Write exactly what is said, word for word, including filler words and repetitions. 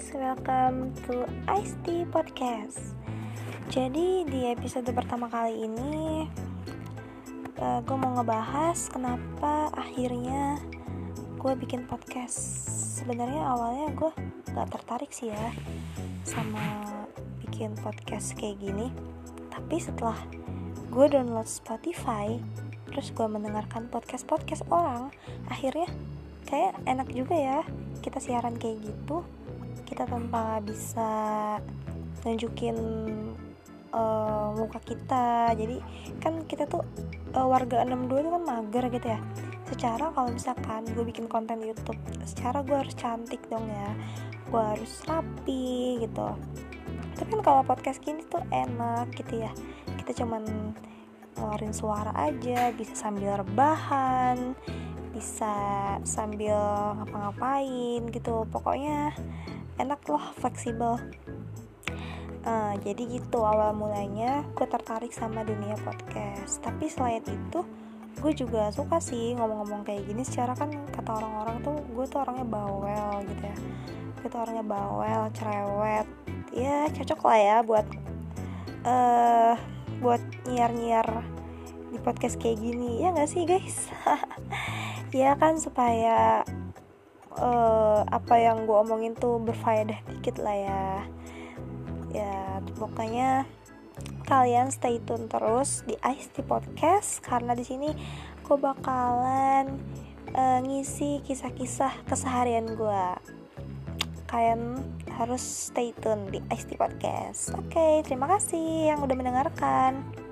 welcome to Ice Tea Podcast. Jadi di episode pertama kali ini uh, gue mau ngebahas kenapa akhirnya gue bikin podcast. Sebenarnya awalnya gue gak tertarik sih ya sama bikin podcast kayak gini. Tapi setelah gue download Spotify, terus gue mendengarkan podcast-podcast orang, akhirnya kayak enak juga ya kita siaran kayak gitu. Kita tanpa bisa nunjukin uh, muka kita. Jadi kan kita tuh uh, warga enam dua itu kan mager gitu ya. Secara kalau misalkan gue bikin konten YouTube, secara gue harus cantik dong ya, gue harus rapi gitu. Tapi kan kalau podcast gini tuh enak gitu ya, kita cuman ngeluarin suara aja, bisa sambil rebahan, bisa sambil ngapa-ngapain gitu. Pokoknya enak loh, fleksibel. uh, Jadi gitu awal mulanya gue tertarik sama dunia podcast. Tapi selain itu gue juga suka sih ngomong-ngomong kayak gini. Secara kan kata orang-orang tuh gue tuh orangnya bawel gitu ya. Gue tuh orangnya bawel, cerewet. Ya cocok lah ya buat uh, Buat nyiar-nyiar di podcast kayak gini. Ya gak sih guys? Ya kan supaya Uh, apa yang gue omongin tuh berfaedah dikit lah ya. Ya pokoknya kalian stay tune terus di Ice Tea Podcast, karena di sini gue bakalan uh, ngisi kisah-kisah keseharian gue. Kalian harus stay tune di Ice Tea Podcast. Oke, okay, terima kasih yang udah mendengarkan.